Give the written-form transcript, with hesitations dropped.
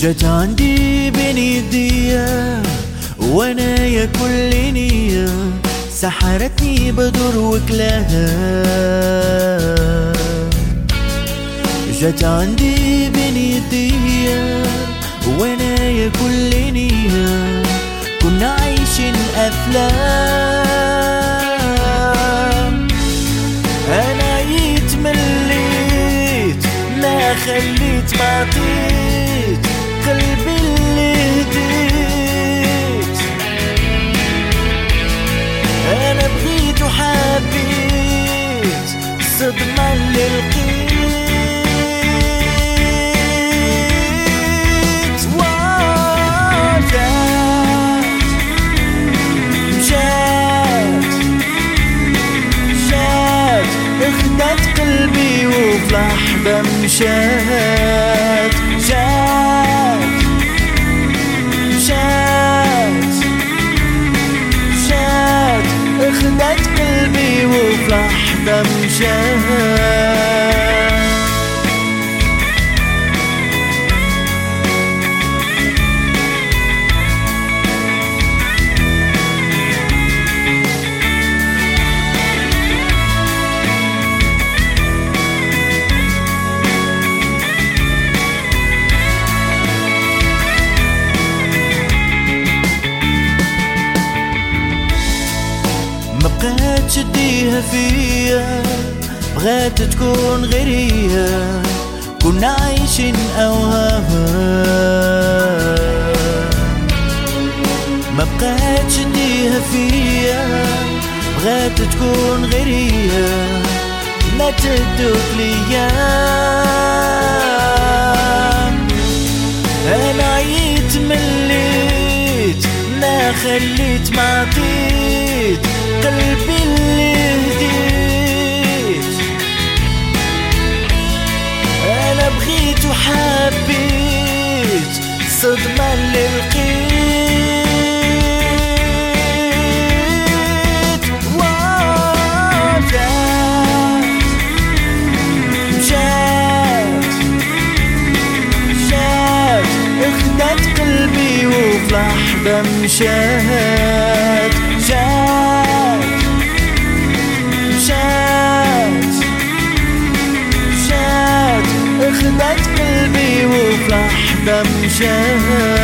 جت عندي بين يديا وانا يا كل نية، سحرتني بدر وكلاها. جت عندي بين يديا وانا يا كل نية، كنا عايشين افلام. انا يتمليت ما خليت ما عطيت قلبي اللي هديت. انا بغيت وحبيت الصدمة اللي لقيت. اخدت قلبي وفي لحظة مشات. شات اخدت قلبي وفي لحظة مشات. بغات تشديها فيا، بغات تكون غيريا، كنا عايشين اوهام. ما بقات تشديها فيا، بغات تكون غيريا، ما تدوك ليام. انا يتمليت ما خليت ما عطيت قلبي اللي هديت. انا بغيت وحبيت الصدمة اللي لقيت. شات اخدت قلبي وفي لحظة مشات. شات اخدت قلبي وفي لحظة مشات.